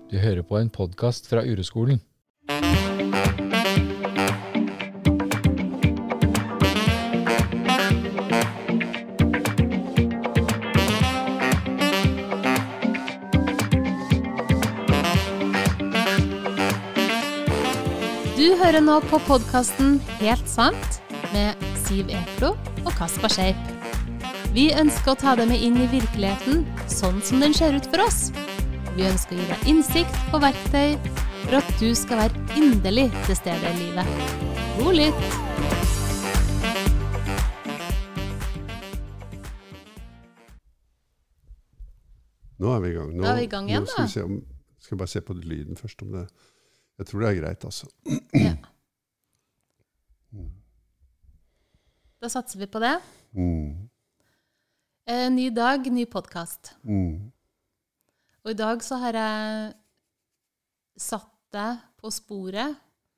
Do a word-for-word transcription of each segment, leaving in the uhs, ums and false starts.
Du hører på en podcast fra Ureskolen. Du hører nå på podcasten Helt sant med Siv Eklo og Kaspar Scheip. Vi ønsker å ta deg med inn i virkeligheten sånn som den ser ut for oss. Vi ønsker å gi deg innsikt og verktøy for at du skal være inderlig til stede i livet. God lytt! Nå er vi i gang. Nå, Da er vi i gang igjen, nå skal da. vi se om, skal jeg bare se på lyden først om det. Jeg tror det er greit, altså. Ja. Da satser vi på det. Mm. Eh, ny dag, ny podcast. Mm. Og i dag så har jeg satt deg på sporet,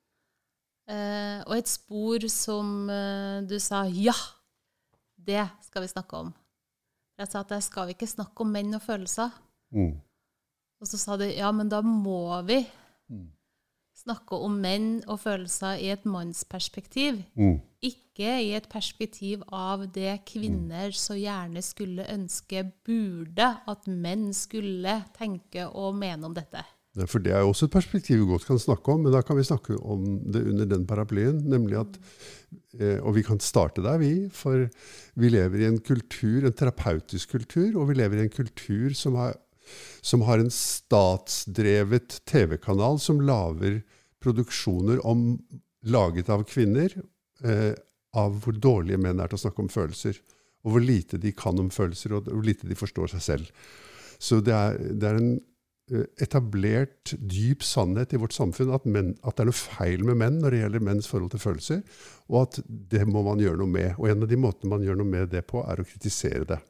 eh, og et spor som eh, du sa, ja, det skal vi snakke om. Jeg sa at jeg skal ikke snakke om menn og følelser. Mm. Og så sa du, ja, men da må vi Mm. snakke om menn og følelser i et mannsperspektiv. Mm. Ikke i et perspektiv av det kvinner så gjerne skulle ønske burde at menn skulle tenke og mene om dette. Ja, for det er jo også et perspektiv vi godt kan snakke om, men da kan vi snakke om det under den paraplyen, nemlig at, eh, og vi kan starte der vi, for vi lever i en kultur, en terapeutisk kultur, og vi lever i en kultur som har, som har en statsdrevet T V-kanal som lager produksjoner om, laget av kvinner, eh, av hvor dårlige menn er til å snakke om følelser, og hvor lite de kan om følelser, og hvor lite de forstår seg selv. Så det er, det er en etablert dyp sannhet i vårt samfunn at, menn, at det er noe feil med menn når det gjelder menns forhold til følelser, og at det må man gjøre noe med. Og en av de måtene man gjør noe med det på er å kritisere det.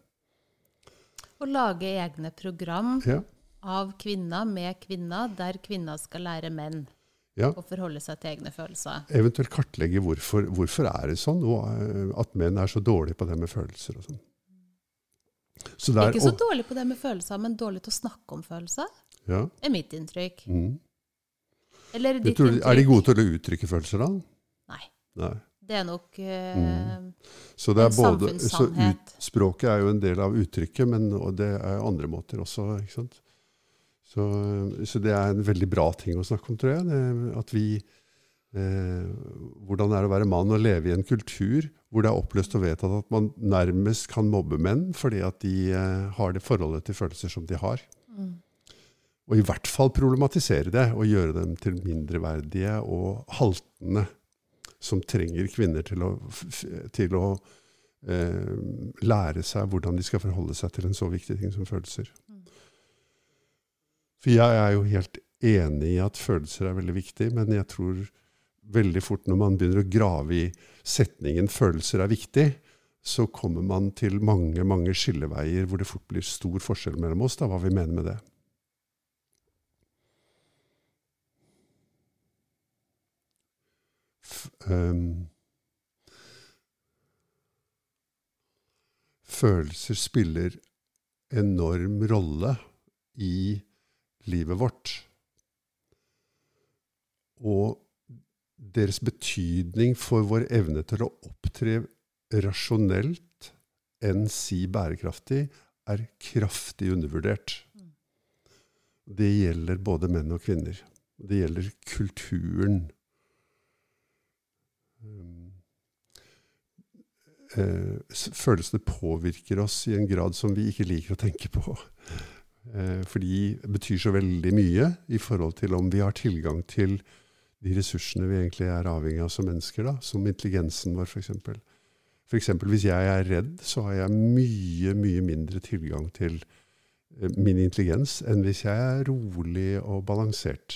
Å lage egne program Ja, av kvinner med kvinner, der kvinner skal lære menn ja. å forholde seg til egne følelser. Eventuelt kartlegge hvorfor, hvorfor er det sånn, og eh, at menn er så dårlige på det med følelser og sånn. Så det er, Ikke så og- dårlig på det med følelser, men dårlig til å snakke om følelser, ja. er mitt inntrykk. Mm. Eller Jeg ditt tror, inntrykk? er de gode til å uttrykke følelser da? Nei, Nei. det er nok eh, Så, det er en både, så samfunnssannhet. ut, språket er jo en del av uttrykket, men og det er andre måter også, ikke sant? Så, så det er en veldig bra ting å snakke om, tror jeg. Det, at vi, eh, hvordan er det å være mann og leve i en kultur hvor det er oppløst og vedtatt at man nærmest kan mobbe menn fordi at de eh, har det forholdet til følelser som de har. Mm. Og i hvert fall problematisere det og gjøre dem til mindreverdige og haltende som trenger kvinner til å, til å eh, lære seg hvordan de skal forholde seg til en så viktig ting som følelser. Mm. For jeg er jo helt enig i at følelser er veldig viktig, men jeg tror veldig fort når man begynner å grave i setningen følelser er viktig, så kommer man til mange, mange skilleveier hvor det fort blir stor forskjell mellom oss, da, hva vi mener med det. F- um, følelser spiller enorm rolle i livet vårt. Og deres betydning for vår evne til å opptre rasjonelt enn si bærekraftig er kraftig undervurdert. Det gjelder både menn og kvinner. Det gjelder kulturen. Følelsene påvirker oss i en grad som vi ikke liker å tenke på. Fordi det betyr så veldig mye i forhold til om vi har tilgang til de ressursene vi egentlig er avhengig av som mennesker, da, som intelligensen vår for eksempel. For eksempel hvis jeg er redd, så har jeg mye, mye mindre tilgang til min intelligens enn hvis jeg er rolig og balansert.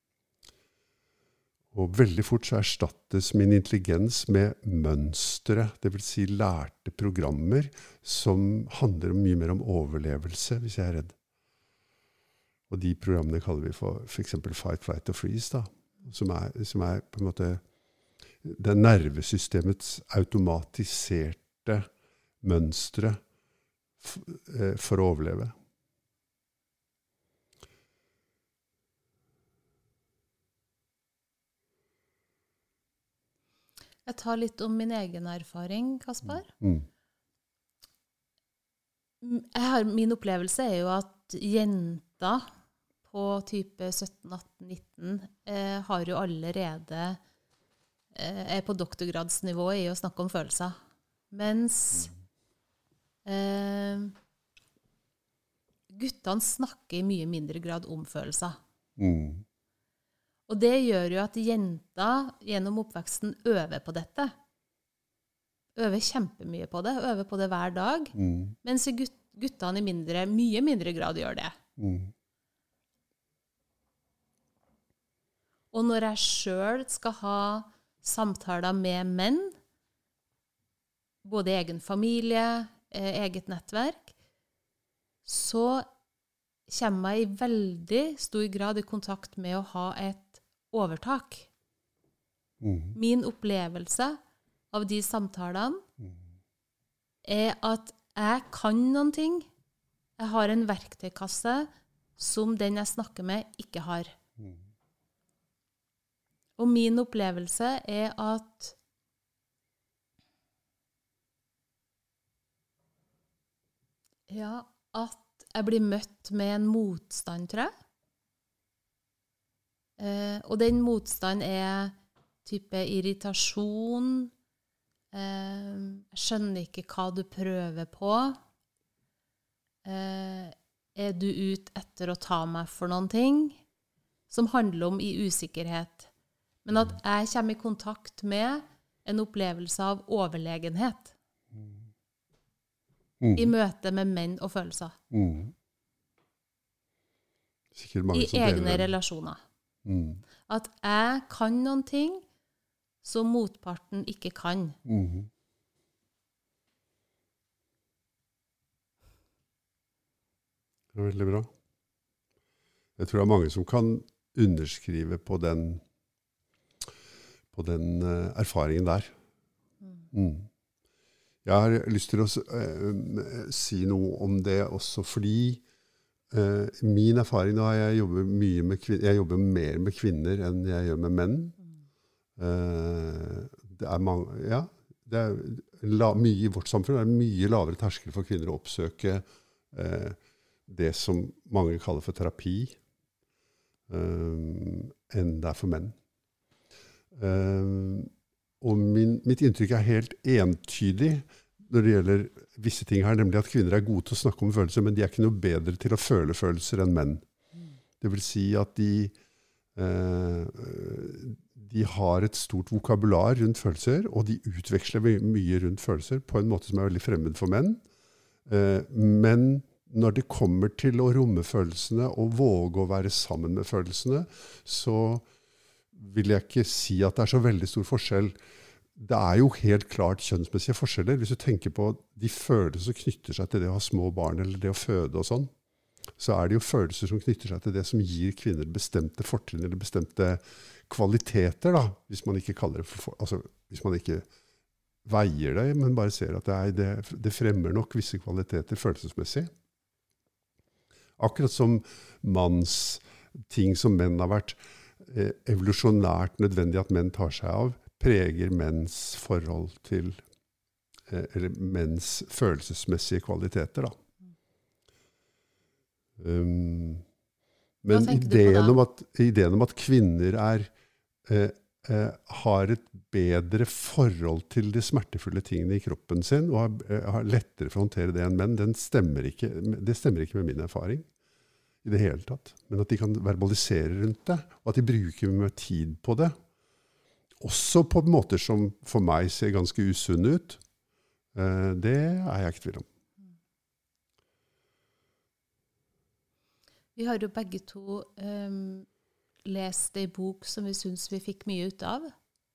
Og veldig fort så erstattes min intelligens med mønstre, det vil si lærte programmer som handler mye mer om overlevelse hvis jeg er redd. Og de programmene kaller vi for for eksempel fight, flight og freeze, da, som er, som er på en måte det nervesystemets automatiserte mønstre for å overleve. jeg tar litt om min egen erfaring, Kaspar. Mm. Jeg har, min opplevelse er jo at jenter på type sytten, atten, nitten eh, har jo allerede eh, er på doktorgradsnivå i å snakke om følelser. Mens eh, guttene snakker i mye mindre grad om følelser. Mm. Og det gjør jo at jenter gjennom oppveksten øver på dette. Øver kjempemye på det, øver på det hver dag, Mm. mens gut, guttene i mindre, mye mindre grad gjør det. Mm. Og når jeg selv skal ha samtaler med menn, både egen familie, eh, eget nettverk, så kommer jeg i veldig stor grad i kontakt med å ha et overtak. Mm. Min opplevelse av de samtalene er at jeg kan noen ting. Jeg har en verktøykasse som den jeg snakker med, ikke har. Mm. Og min opplevelse er at ja, at jeg blir møtt med en motstand, tror jeg. Eh, og den motstand er type irritasjon. Eh, jeg skjønner ikke hva du prøver på. Eh, er du ute etter å ta meg for noen ting? Som handler om i usikkerhet. Men at jeg kommer i kontakt med en opplevelse av overlegenhet. Mm. I møte med menn og følelser. Mm. Sikkert mange I som deler egne den. relasjoner. Mm. At jeg kan noen ting som motparten ikke kan. Mm. Det er veldig bra. Jeg tror det er mange som kan underskrive på den, på den uh, erfaringen der. Mm. Jeg har lyst til å uh, si noe om det også, fordi uh, min erfaring da, jeg jobber, mye med kvin- jeg jobber mer med kvinner enn jeg gjør med menn. Uh, det er mange, ja, det er la, mye i vårt samfunn, det er mye lavere terskel for kvinner å oppsøke uh, det som mange kaller for terapi, uh, enn det er for menn. Uh, og min, mitt inntrykk er helt entydig når det gjelder visse ting her, nemlig at kvinner er gode til å snakke om følelser, men de er ikke noe bedre til å føle følelser enn menn. Det vil si at de, uh, de har et stort vokabular rundt følelser, og de utveksler mye rundt følelser på en måte som er veldig fremmed for menn. Uh, men når det kommer til å romme følelsene og våge å være sammen med følelsene, så vil jeg ikke si at det er så veldig stor forskjell. Det er jo helt klart kjønnsmessige forskjeller. Hvis du tenker på de følelser som knytter seg til det å ha små barn, eller det å føde og sånn, så er det jo følelser som knytter seg til det som gir kvinner bestemte fortrinn, eller bestemte kvaliteter, da, hvis man ikke kaller det for, altså, hvis man ikke veier det, men bare ser at det, er, det, det fremmer nok visse kvaliteter følelsesmessig. Akkurat som manns ting som menn har vært eh, evolusjonært nødvendig at menn tar seg av, preger menns forhold til, eh, eller menns følelsesmessige kvaliteter, da. Um, men ideen om, at, ideen om at kvinner er, eh, eh, har et bedre forhold til de smertefulle tingene i kroppen sin, og har, eh, har lettere for å håndtere det enn menn, den stemmer ikke, det stemmer ikke med min erfaring i det hele tatt. Men at de kan verbalisere rundt det, og at de bruker mye tid på det, også på måter som for meg ser ganske usunne ut, eh, det er jeg ikke tvil om. Vi har jo begge to um, lest en bok som vi synes vi fikk mye ut av.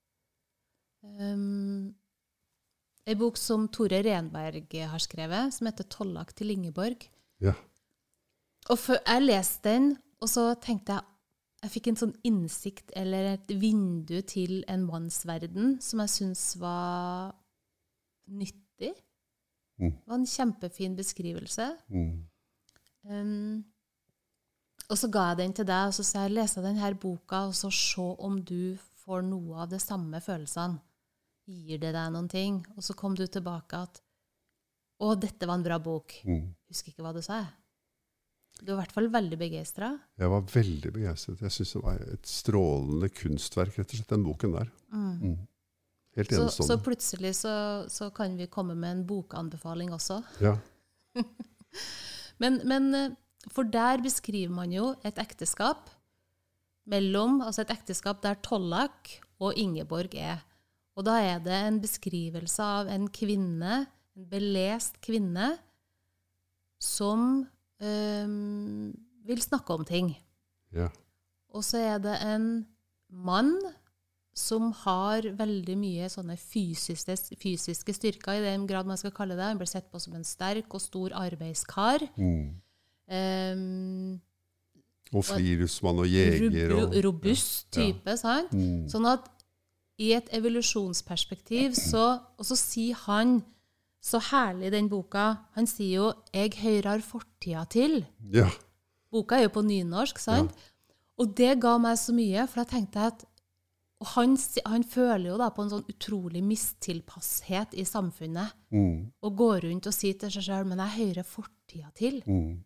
Um, en bok som Tore Renberg har skrevet, som heter Tollak til Ingeborg. Ja. Og for, jeg leste den, og så tenkte jeg, jeg fikk en sånn innsikt, eller et vindu til en mannsverden, som jeg synes var nyttig. Mm. Det var en kjempefin beskrivelse. Mm. Um, og så ga jeg den til deg, og så sa jeg, lese denne boka, og så se om du får noe av de samme følelsene. gir det deg noen ting, og så kom du tilbake at å, dette var en bra bok. Mm. Husker ikke hva du sa. Du var i hvert fall veldig begeistret. Jeg var veldig begeistret. Jeg synes det var et strålende kunstverk, rett og slett, den boken der. Mm. Mm. Helt Så, enestående. så plutselig så, så kan vi komme med en bokanbefaling også. Ja. men, men for der beskriver man jo et ekteskap mellom, altså et ekteskap der Tollak og Ingeborg er. Og da er det en beskrivelse av en kvinne, en belest kvinne, som øhm, vil snakke om ting. Ja. Og så er det en mann som har veldig mye sånne fysiske, fysiske styrker, i den grad man skal kalle det. Han blir sett på som en sterk og stor arbeidskar. Mm. Um, Og friluftsmann og jeger. Og, robust type, ja. Sant? Mm. Sånn at i et evolusjonsperspektiv, så, og så sier han, så herlig den boka, han sier jo, jeg hører fortida til. Ja. Boka er jo på nynorsk, sant? Ja. Og det ga meg så mye, for jeg tenkte at, og han, han føler jo da på en sånn utrolig mistilpasshet i samfunnet, Mm. og går rundt og sier til seg selv, men jeg hører fortida til. Mm.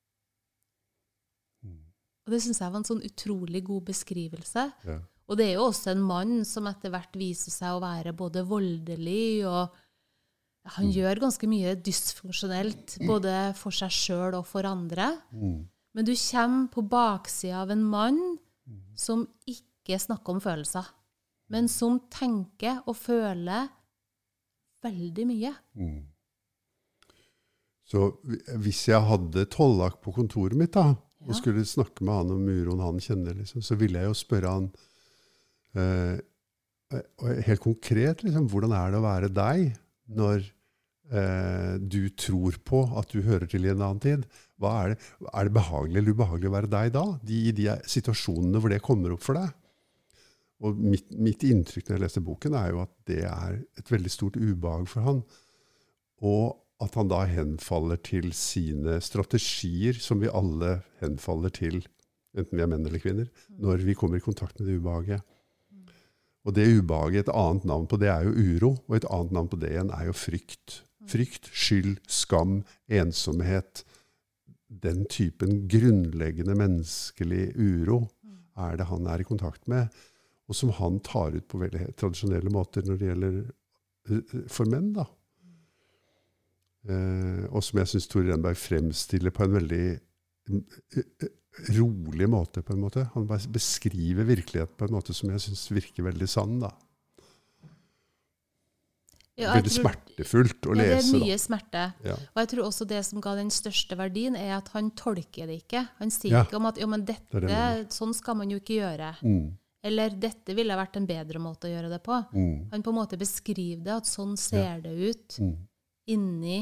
Og det synes jeg var en sånn utrolig god beskrivelse. Ja. Og det er jo også en mann som etter hvert viser seg å være både voldelig, og han mm. gjør ganske mye dysfunksjonelt, både for seg selv og for andre. Mm. Men du kommer på baksiden av en mann som ikke snakker om følelser, men som tenker og føler veldig mye. Mm. Så hvis jeg hadde Tollak på kontoret mitt da, og Ja. skulle snakke med han om uroen han kjenner, liksom, så ville jeg jo spørre han eh, helt konkret, liksom, hvordan er det å være deg når eh, du tror på at du hører til i en annen tid? Hva er det? Er det behagelig eller ubehagelig å være deg da? De, I de situasjonene hvor det kommer opp for deg? Og mitt, mitt inntrykk når jeg leser boken er jo at det er et veldig stort ubehag for han. Og at han da henfaller til sine strategier, som vi alle henfaller til, enten vi er menn eller kvinner, når vi kommer i kontakt med det ubehaget. Og det ubehaget, et annet navn på det er jo uro, og et annet navn på det igjen er jo frykt. Frykt, skyld, skam, ensomhet. Den typen grunnleggende menneskelig uro er det han er i kontakt med, og som han tar ut på veldig tradisjonelle måter når det gjelder for menn da. Uh, og som jeg synes Tore Renberg fremstiller på en veldig uh, rolig måte på en måte. Han beskriver virkeligheten på en måte som jeg synes virker veldig sann da. Ja, veldig tror, smertefullt å ja, lese. Det er mye smerte. Ja. Og jeg tror også det som ga den største verdien er at han tolker det ikke. Han sier Ja. ikke om at jo, men dette, Det er det sånn skal man jo ikke gjøre. Mm. Eller dette ville vært en bedre måte å gjøre det på. Mm. Han på en måte beskriver det, at sånn ser Ja. det ut Mm. inni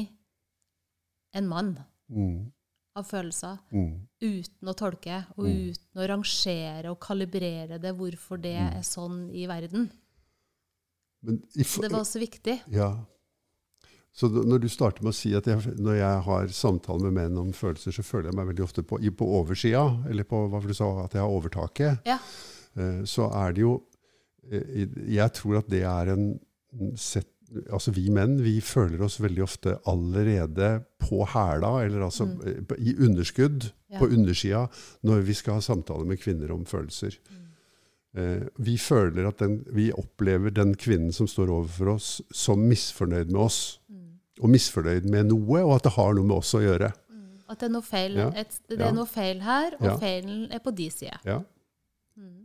en mann Mm. av følelser, Mm. uten å tolke, og Mm. uten å rangere og kalibrere det, hvorfor det Mm. er sånn i verden. Men i, Så det var også viktig. Ja. Så når du starter med å si at jeg, når jeg har samtaler med menn om følelser, så føler jeg meg veldig ofte på, på oversida, eller på hva du sa, at jeg har overtaket. Ja. Så er det jo, jeg tror at det er en sett, altså vi menn, vi føler oss veldig ofte allerede på hæla, eller altså mm. i underskudd, ja. På undersida, når vi skal ha samtaler med kvinner om følelser. Mm. Vi føler at den, vi opplever den kvinnen som står overfor oss som misfornøyd med oss, mm. og misfornøyd med noe, og at det har noe med oss å gjøre. Mm. At det er noe feil, ja. et, det ja. er noe feil her, og ja. feilen er på de side. Ja. Mm.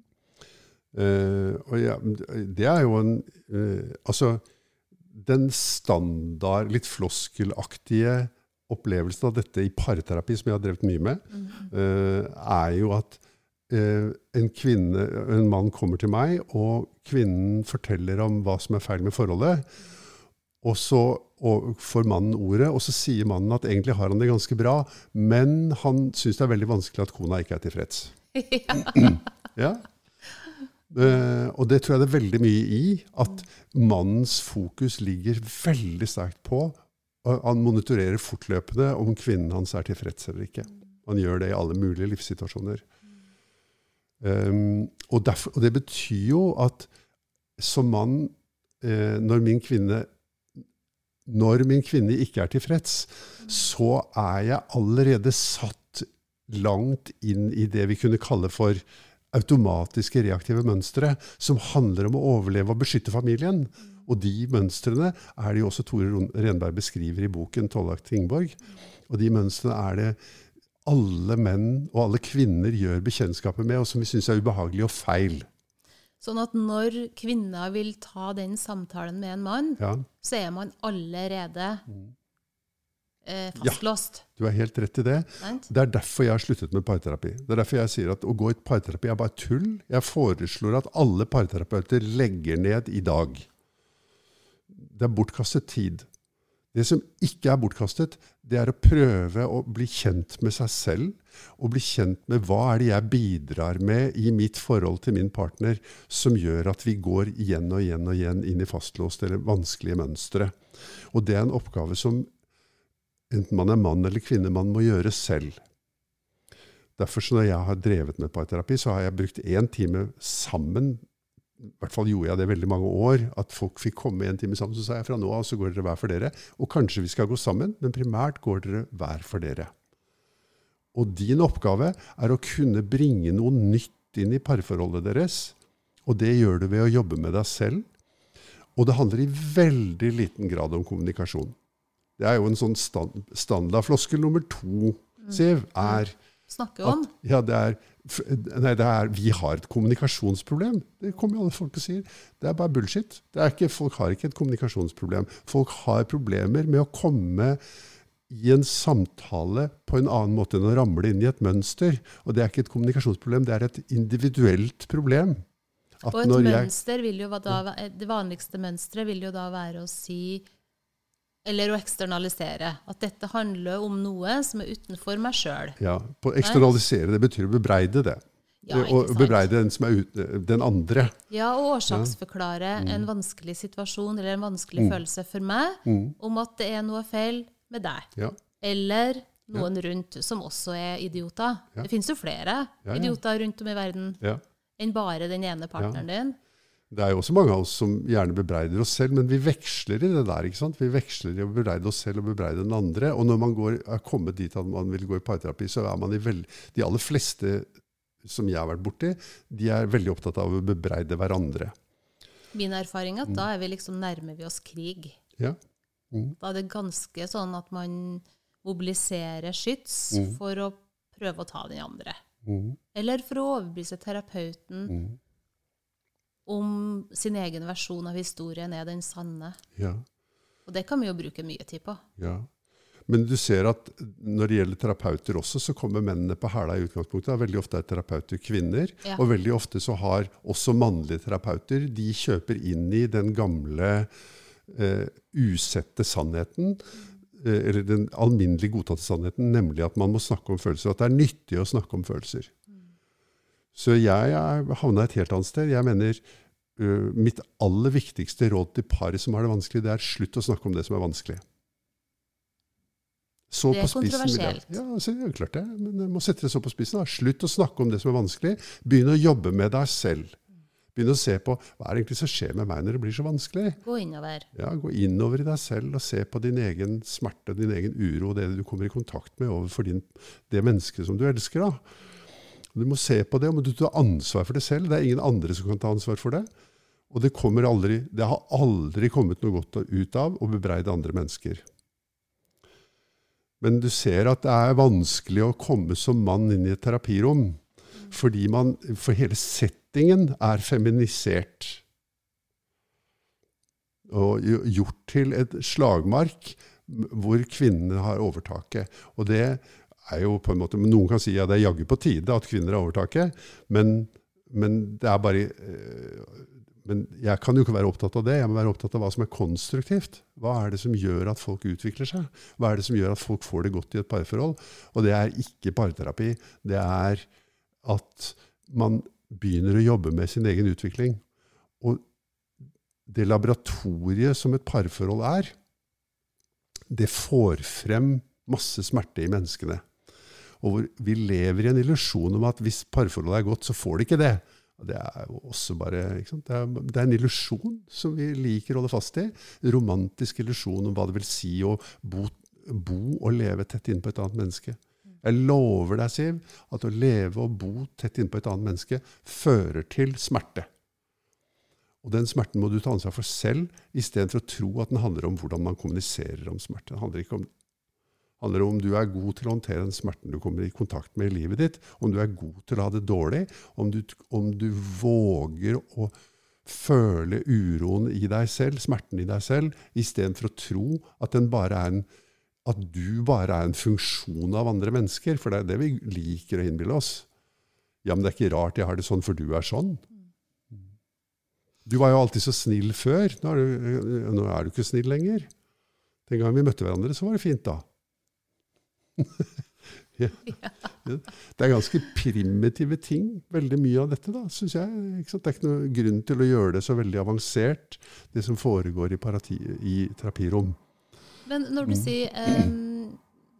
Uh, og ja, det er jo en, uh, altså, den standard, litt floskelaktige opplevelsen av dette i parterapi, som jeg har drevet mye med, mm. uh, er jo at uh, en kvinne, en mann kommer til meg, og kvinnen forteller om hva som er feil med forholdet, og så og får mannen ordet, og så sier mannen at egentlig har han det ganske bra, men han synes det er veldig vanskelig at kona ikke er tilfreds. Ja. Ja. Uh, og det tror jeg det er veldig mye i, at mannens fokus ligger veldig sterkt på, og han monitorerer fortløpende om kvinnen hans er tilfreds eller ikke. Han gjør det i alle mulige livssituasjoner. Um, og, derfor, og det betyr jo at som mann eh, når min kvinne når min kvinne ikke er tilfreds, så er jeg allerede satt langt inn i det vi kunne kalle for automatiske reaktive mønstre, som handler om å overleve og beskytte familien. Og de mønstrene er det jo også Tore Renberg beskriver i boken Tollak Tingborg. Og de mønstrene er det alle menn og alle kvinner gjør bekjentskapet med, og som vi synes er ubehagelig og feil. Sånn at når kvinner vil ta den samtalen med en mann, ja. så er man allerede eh, fastlåst. Ja, du er helt rett i det. Right? Det er derfor jeg har sluttet med parterapi. Det er derfor jeg sier at å gå i parterapi er bare tull. Jeg foreslår at alle parterapeuter legger ned i dag. Det er bortkastet tid. Det som ikke er bortkastet, det er å prøve å bli kjent med seg selv, og bli kjent med hva er det jeg bidrar med i mitt forhold til min partner, som gjør at vi går igjen og igjen og igjen inn i fastlåst eller vanskelige mønstre. Og det er en oppgave som enten man er mann eller kvinne, man må gjøre selv. Derfor så når jeg har drevet med parterapi, så har jeg brukt en time sammen. I hvert fall gjorde jeg det veldig mange år, at folk fikk komme en time sammen, så sa jeg fra nå av, så går dere hver for dere. Og kanskje vi skal gå sammen, men primært går dere hver for dere. Og din oppgave er å kunne bringe noe nytt inn i parforholdet deres, og det gjør du ved å jobbe med deg selv. Og det handler i veldig liten grad om kommunikasjon. Det er jo en sånn stand, standardfloskel nummer to, Siv, er Snakke om. At, ja, det er, nei, det er, vi har et kommunikasjonsproblem. Det kommer jo alle folk og sier. Det er bare bullshit. Det er ikke, folk har ikke et kommunikasjonsproblem. Folk har problemer med å komme i en samtale på en annen måte enn å ramle inn i et mønster. Og det er ikke et kommunikasjonsproblem, det er et individuelt problem. At og et mønster jeg, vil jo da, det vanligste mønstret vil jo da være å si, eller å eksternalisere, at dette handler om noe som er utenfor meg selv. Ja, på eksternalisere, det betyr å bebreide det. Ja, og bebreide den som er ute, den andre. Ja, og årsaksforklare ja. mm. en vanskelig situasjon, eller en vanskelig mm. følelse for meg, mm. om at det er noe feil med deg. Ja. Eller noen ja. rundt som også er idioter. Ja. Det finnes jo flere ja, ja. idioter rundt om i verden, ja. enn bare den ene partneren ja. din. Det er jo også mange av oss som gjerne bebreider oss selv, men vi veksler i det der, ikke sant? Vi veksler i å bebreide oss selv og bebreide den andre, og når man går, er kommet dit at man vil gå i parterapi, så er man i veld, de aller fleste som jeg har vært borti, de er veldig opptatt av å bebreide hverandre. Min erfaring er at mm. da er vi liksom nærmer vi oss krig. Ja. Mm. Da er det ganske sånn at man mobiliserer skyts mm. for å prøve å ta den andre. Mm. Eller for å overbevise terapeuten mm. om sin egen versjon av historien er den sanne. Ja. Og det kan vi jo bruke mye tid på. Ja. Men du ser at når det gjelder terapeuter også, så kommer mennene på hæla i utgangspunktet. Veldig ofte er terapeuter kvinner, ja. og veldig ofte så har også mannlige terapeuter, de kjøper inn i den gamle eh, usette sannheten, eh, eller den alminnelig godtatte sannheten, nemlig at man må snakke om følelser, at det er nyttig å snakke om følelser. Så jeg havnet et helt annet sted. Jeg mener, uh, mitt aller viktigste råd til par som har det vanskelig, det er slutt å snakke om det som er vanskelig. Så det er kontroversielt. Ja, så det er klart det. Men jeg må sette det så på spissen. Da. Slutt å snakke om det som er vanskelig. Begynn å jobbe med deg selv. Begynn å se på, hva er det egentlig som skjer med meg når det blir så vanskelig? Gå innover. Ja, gå innover i deg selv og se på din egen smerte, din egen uro, og det du kommer i kontakt med overfor din, det mennesket som du elsker da. Du må se på det, og du tar ansvar for det selv. Det er ingen andre som kan ta ansvar for det. Og det, kommer aldri, det har aldri kommet noe godt ut av å bebreide andre mennesker. Men du ser at det er vanskelig å komme som mann inn i et terapirom, fordi man, for hele settingen er feminisert. Og gjort til et slagmark hvor kvinnene har overtaket. Og det er jo på en måte, noen kan si at ja, det er jaggu på tide at kvinner har overtaket, men, men det er bare, men jeg kan jo ikke være opptatt av det, jeg må være opptatt av hva som er konstruktivt. Hva er det som gjør at folk utvikler seg? Hva er det som gjør at folk får det godt i et parforhold? Og det er ikke parterapi, det er at man begynner å jobbe med sin egen utvikling. Og det laboratoriet som et parforhold er, det får frem masse smerte i menneskene. Og hvor vi lever i en illusjon om at hvis parforholdet er godt, så får det ikke det. Det er jo også bare, ikke sant? Det er, det er en illusjon som vi liker å holde fast i. En romantisk illusjon om hva det vil si å bo, bo og leve tett inn på et annet menneske. Jeg lover deg, Siv, at å leve og bo tett inn på et annet menneske fører til smerte. Og den smerten må du ta ansvar for selv, i stedet for å tro at den handler om hvordan man kommuniserer om smerte. Det handler ikke om, handler om du er god til å håndtere den smerten du kommer i kontakt med i livet ditt, om du er god til å ha det dårlig, om du, om du våger å føle uroen i deg selv, smerten i deg selv, i stedet for å tro at, den bare er en, at du bare er en funksjon av andre mennesker, for det er det vi liker å innbille oss. Ja, men det er ikke rart jeg har det sånn, for du er sånn. Du var jo alltid så snill før. Nå er du, nå er du ikke snill lenger. Den gang vi møtte hverandre, så var det fint da. Ja. Det er ganske primitive ting, veldig mye av dette da, synes jeg. Ikke sant? Det er ikke noe grunn til å gjøre det så veldig avansert, det som foregår i, parati, i terapirom. Men når du mm. sier um,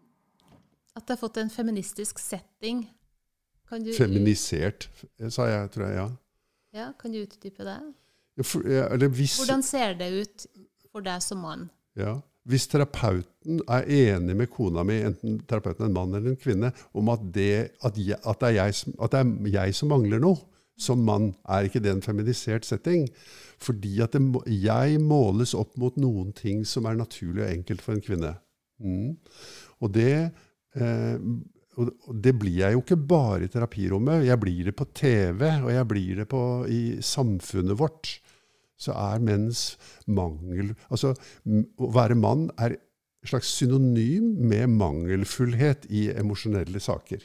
at det har fått en feministisk setting, kan du... Feminisert, sa jeg, tror jeg, ja. Ja, kan du utdype det? For, ja, eller hvis, Hvordan ser det ut for deg som mann? Ja, hvis terapeuten er enig med kona mi, enten terapeuten er en mann eller en kvinne, om at det, at jeg, at det, er, jeg, at det er jeg som mangler noe, som mann, er ikke det en feminisert setting. Fordi at det, jeg måles opp mot noen ting som er naturlig og enkelt for en kvinne. Mm. Og det... Eh, Og det blir jeg jo ikke bare i terapirommet, jeg blir det på T V, og jeg blir det på, i samfunnet vårt. Så er menns mangel, altså å være mann er et slags synonym med mangelfullhet i emosjonelle saker.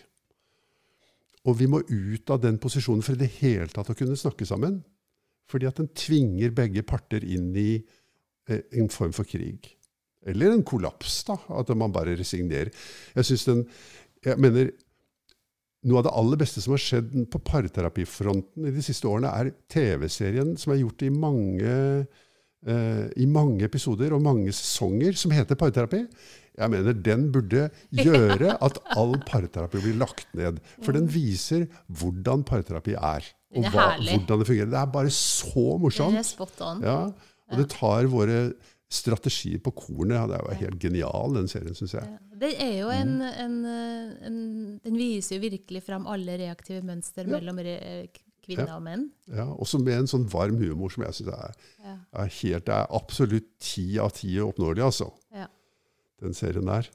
Og vi må ut av den posisjonen for i det hele tatt å kunne snakke sammen, fordi at den tvinger begge parter inn i eh, en form for krig. Eller en kollaps da, at man bare resignerer. Jeg synes den Jeg mener, noe av det aller beste som har skjedd på parterapifronten i de siste årene er T V-serien som er gjort i mange, eh, i mange episoder og mange sesonger som heter Parterapi. Jeg mener, den burde gjøre at all parterapi blir lagt ned. For den viser hvordan parterapi er. Og hva, hvordan det fungerer. Det er bare så morsomt. Det er spot on. Ja, og det tar våre strategier på kornet. Ja, det er jo helt genial, den serien, synes jeg. Ja, det er jo en, en, en, den viser jo virkelig frem alle reaktive mønster ja. mellom re, kvinner ja. og menn. Ja, også med en sånn varm humor som jeg synes er, ja. er helt, det er absolutt ti av ti oppnåelig, altså. Ja. Den serien der.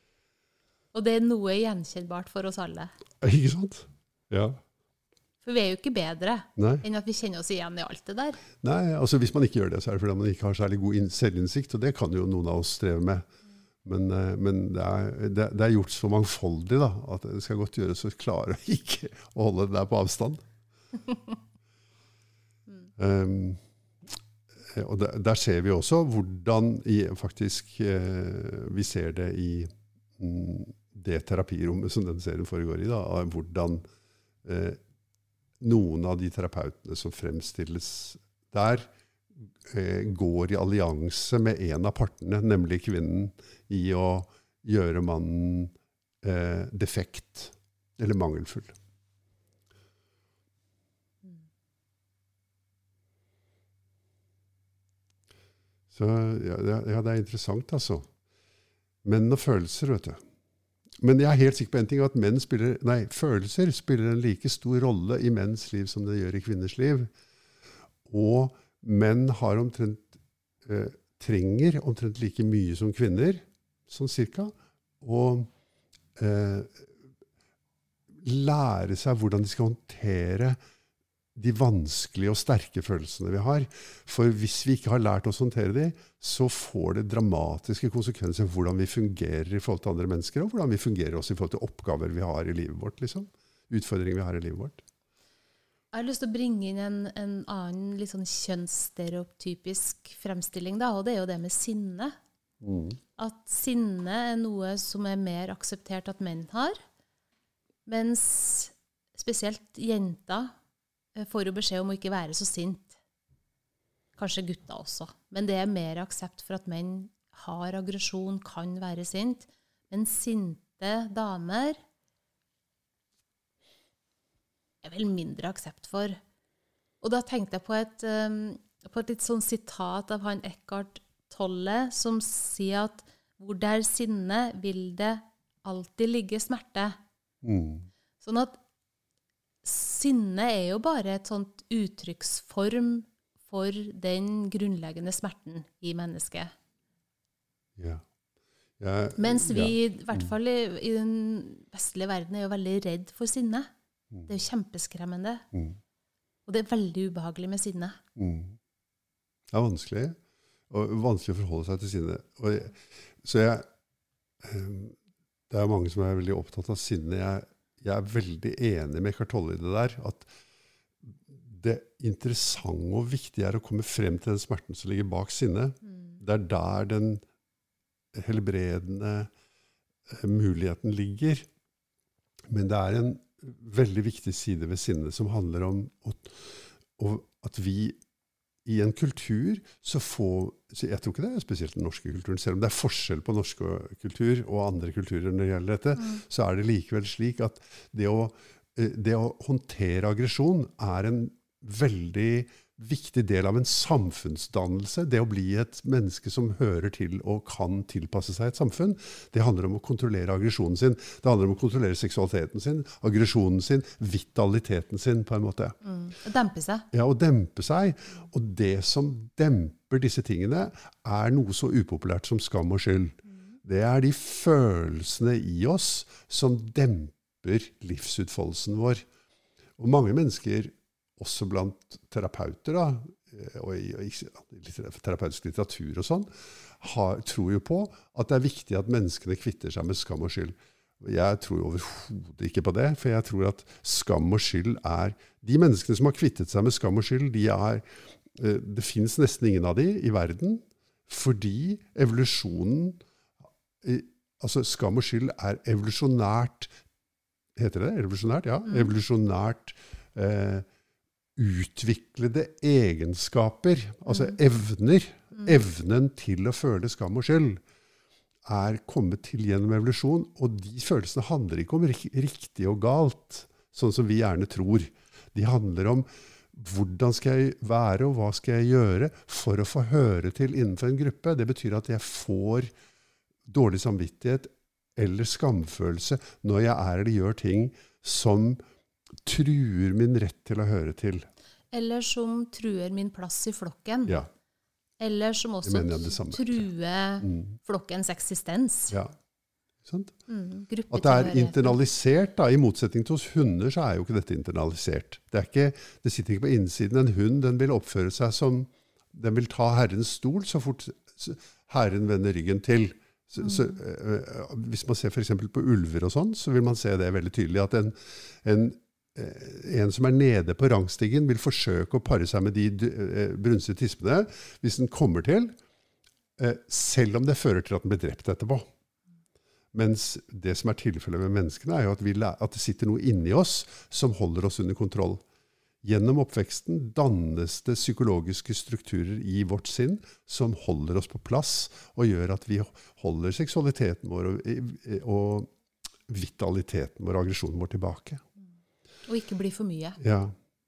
Og det er noe gjenkjennbart for oss alle. Ikke sant? Ja. For vi er jo ikke bedre Nei. enn at vi kjenner oss igjen i alt det der. Nei, altså hvis man ikke gjør det, så er det fordi man ikke har særlig god selvinnsikt, og det kan jo noen av oss streve med. Men, men det, er, det, det er gjort så mangfoldig da, at det skal godt gjøres å klare ikke å holde det der på avstand. um, og der, der ser vi også hvordan i, faktisk eh, vi ser det i mm, det terapirommet som den serien foregår i, da, hvordan eh, noen av de terapeutene som fremstilles der eh, går i allianse med en av partene, nemlig kvinnen, i å gjøre mannen eh, defekt eller mangelfull. Så ja, ja, det er interessant altså. Menn og følelser, vet du. Men jeg er helt sikker på en ting, at menn spiller, nei, følelser spiller en like stor rolle i menns liv som det gjør i kvinners liv. Og menn har omtrent, eh, trenger omtrent like mye som kvinner, sånn cirka, og eh, lære seg hvordan de skal håndtere de vanskelige og sterke følelsene vi har. For hvis vi ikke har lært oss å håndtere de, så får det dramatiske konsekvenser for hvordan vi fungerer i forhold til andre mennesker, og hvordan vi fungerer også i forhold til oppgaver vi har i livet vårt, liksom. Utfordringer vi har i livet vårt. Jeg har lyst til å bringe inn en, en annen litt sånn kjønnsstereotypisk fremstilling, da, og det er jo det med sinne. Mm. At sinne er noe som er mer akseptert at menn har, mens spesielt jenter får jo beskjed om å ikke være så sint. Kanskje gutta også. Men det er mer aksept for at menn har aggresjon, kan være sint. Men sinte damer er vel mindre aksept for. Og da tenkte jeg på et, um, på et litt sånn sitat av han Eckhart Tolle, som sier at hvor det er sinne, vil det alltid ligge smerte. Mm. Sånn at sinne er jo bare et sånt uttrykksform for den grunnleggende smerten i mennesket. Ja. Jeg, Mens vi, ja. i hvert fall i, i den vestlige verden, er jo veldig redd for sinne. Mm. Det er jo kjempeskremmende. Mm. Og det er veldig ubehagelig med sinne. Mm. Det er vanskelig, og vanskelig å forholde seg til sinne. Og jeg, så jeg, det er mange som er veldig opptatt av sinne. Jeg, jeg er veldig enig med Eckhart Tolle i det der, at det interessante og viktige er å komme frem til den smerten som ligger bak sinne. Mm. Det er der den helbredende muligheten ligger. Men det er en veldig viktig side ved sinne som handler om at, at vi i en kultur så får, så jeg tror ikke det er spesielt den norske kulturen, selv om det er forskjell på norsk kultur og andre kulturer når det gjelder dette, mm. så er det likevel slik at det å, det å håndtere aggresjon er en veldig viktig del av en samfunnsdannelse. Det å bli et menneske som hører til og kan tilpasse seg et samfunn, det handler om å kontrollere aggresjonen sin. Det handler om å kontrollere seksualiteten sin, aggresjonen sin, vitaliteten sin på en måte. Mm. Å dempe seg. Ja, å dempe seg. Og det som demper disse tingene er noe så upopulært som skam og skyld. Mm. Det er de følelsene i oss som demper livsutfoldelsen vår. Og mange mennesker, også blant terapeuter, da, og i, og i terapeutisk litteratur og sånn, har, tror jo på at det er viktig at menneskene kvitter seg med skam og skyld. Jeg tror overhodet ikke på det, for jeg tror at skam og skyld er, de menneskene som har kvittet seg med skam og skyld, de er, det finnes nesten ingen av de i verden, fordi evolusjonen, altså skam og skyld er evolusjonært, heter det evolusjonært? Ja, evolusjonært eh, utviklede egenskaper, altså mm. evner, mm. evnen til å føle skam og skyld, er kommet til gjennom evolusjon, og de følelsene handler ikke om riktig og galt, sånn som vi gjerne tror. De handler om hvordan skal jeg være, og hva skal jeg gjøre for å få høre til innenfor en gruppe. Det betyr at jeg får dårlig samvittighet eller skamfølelse når jeg er eller gjør ting som truer min rett til å høre til. Eller som truer min plass i flokken. Ja. Eller som også truer mm. flokkens eksistens. Ja, sant? Mm, at det er internalisert, da, i motsetning til hos hunder, så er jo ikke dette internalisert. Det, er ikke, det sitter ikke på innsiden. En hund, den vil oppføre seg som, den vil ta herrens stol så fort herren vender ryggen til. Så, mm. så, øh, hvis man ser for eksempel på ulver og sånn, så vil man se det veldig tydelig, at en, en en som er nede på rangstigen vil forsøke å pare seg med de brunstige tispene hvis den kommer til, selv om det fører til at den blir drept etterpå. Mens det som er tilfellet med menneskene er jo at, vi, at det sitter noe inni oss som holder oss under kontroll. Gjennom oppveksten dannes det psykologiske strukturer i vårt sinn som holder oss på plass og gjør at vi holder seksualiteten vår og, og vitaliteten vår og aggresjonen vår tilbake. Og ikke bli for mye. Ja.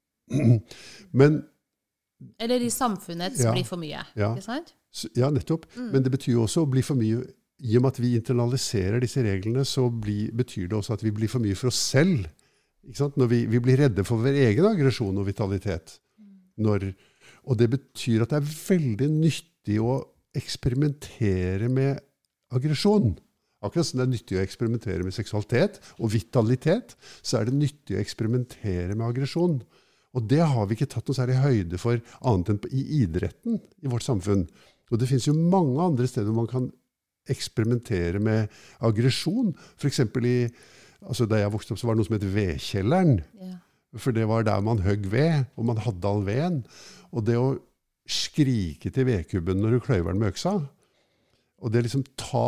Men, eller i samfunnets ja, bli for mye, ja, ikke sant? Ja, nettopp. Mm. Men det betyr jo også å bli for mye, i og med at vi internaliserer disse reglene, så bli, betyr det også at vi blir for mye for oss selv. Ikke sant? Når vi, vi blir redde for vår egen aggresjon og vitalitet. Når, og det betyr at det er veldig nyttig å eksperimentere med aggresjon. Akkurat som det er nyttig å eksperimentere med seksualitet og vitalitet, så er det nyttig å eksperimentere med aggresjon. Og det har vi ikke tatt noe særlig høyde for annet enn i idretten i vårt samfunn. Og det finnes jo mange andre steder hvor man kan eksperimentere med aggresjon. For eksempel i, altså da jeg vokste opp så var det noe som het vedkjelleren. Ja. For det var der man høgg ved, og man hadde all veden. Og det å skrike til vedkubben når du kløyver den med øksa, og det liksom ta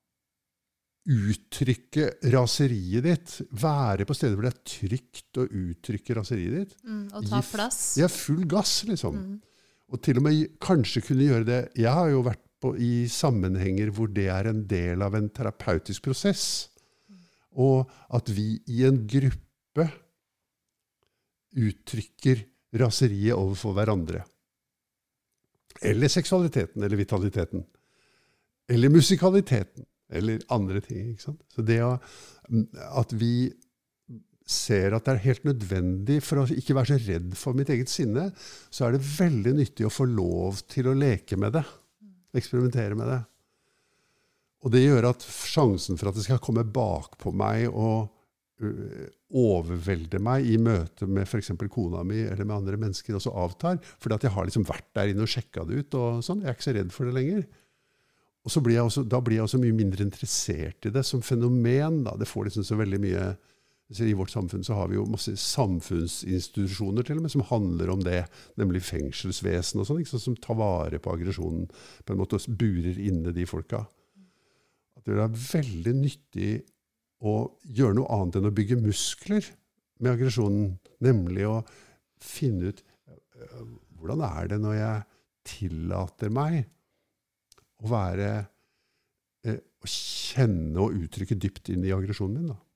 uttrykke raseriet ditt, være på steder hvor det er trygt å uttrykke raseriet ditt. Mm, og ta plass. Ja, full gass, liksom. Mm. Og til og med kanskje kunne gjøre det. Jeg har jo vært på, i sammenhenger hvor det er en del av en terapeutisk prosess. Mm. Og at vi i en gruppe uttrykker raseriet overfor hverandre. Eller seksualiteten, eller vitaliteten. Eller musikaliteten, eller andre ting. Ikke sant? Så det at vi ser at det er helt nødvendig for å ikke være så redd for mitt eget sinne, så er det veldig nyttig å få lov til å leke med det. Eksperimentere med det. Og det gjør at sjansen for at det skal komme bak på meg og uh, overvelde meg i møte med for eksempel kona mi eller med andre mennesker også avtar, fordi at jeg har liksom vært der inne og sjekket det ut og sånn. Jeg er ikke så redd for det lenger. Og så blir jeg også, da blir jeg også mye mindre interessert i det som fenomen. Da. Det får liksom så veldig mye. I vårt samfunn så har vi jo masse samfunnsinstitusjoner til og med som handler om det, nemlig fengselsvesen og sånn, ikke sant, som tar vare på aggresjonen, på en måte og burer inne de folka. At det er veldig nyttig å gjøre noe annet enn å bygge muskler med aggresjonen, nemlig å finne ut hvordan er det når jeg tillater meg å være, å kjenne og uttrykke dypt inn i aggresjonen min da.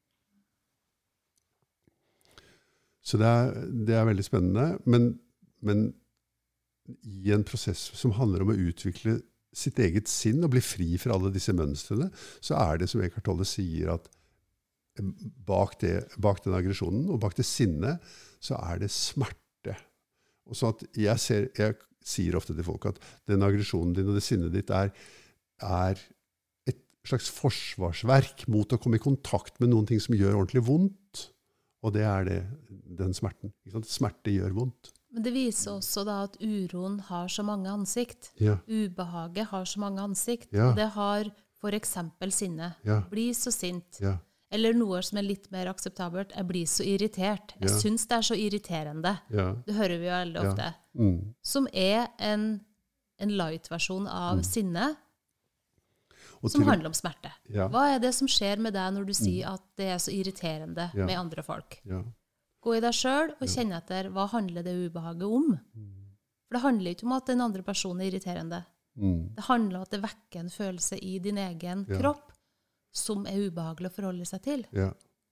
Så det er, det er veldig spennende, men, men i en prosess som handler om å utvikle sitt eget sinn og bli fri fra alle disse mønstrene, så er det som Eckhart Tolle sier at bak, det, bak den aggresjonen og bak det sinnet, så er det smerte. Og så at jeg, ser, jeg sier ofte til folk at den aggresjonen din og det sinnet ditt er, er et slags forsvarsverk mot å komme i kontakt med noen ting som gjør ordentlig vondt. Og det er det, den smerten. Ikke sant? Smerte gjør vondt. Men det viser også da at uroen har så mange ansikt. Ja. Ubehaget har så mange ansikt. Ja. Og det har for eksempel sinne. Ja. Bli så sint. Ja. Eller noe som er litt mer akseptabelt. Jeg blir så irritert. Jeg Ja. synes det er så irriterende. Ja. Det hører vi jo veldig Ja. ofte. Mm. Som er en, en light-versjon av Mm. sinne, Og som til- handler om smerte. Ja. Hva er det som skjer med deg når du sier at det er så irriterende Ja. med andre folk? Ja. Gå i deg selv og kjenne etter hva handler det ubehaget om. For det handler ikke om at den andre personen er irriterende. Mm. Det handler om at det vekker en følelse i din egen Ja. kropp som er ubehagelig å forholde seg til. Ja.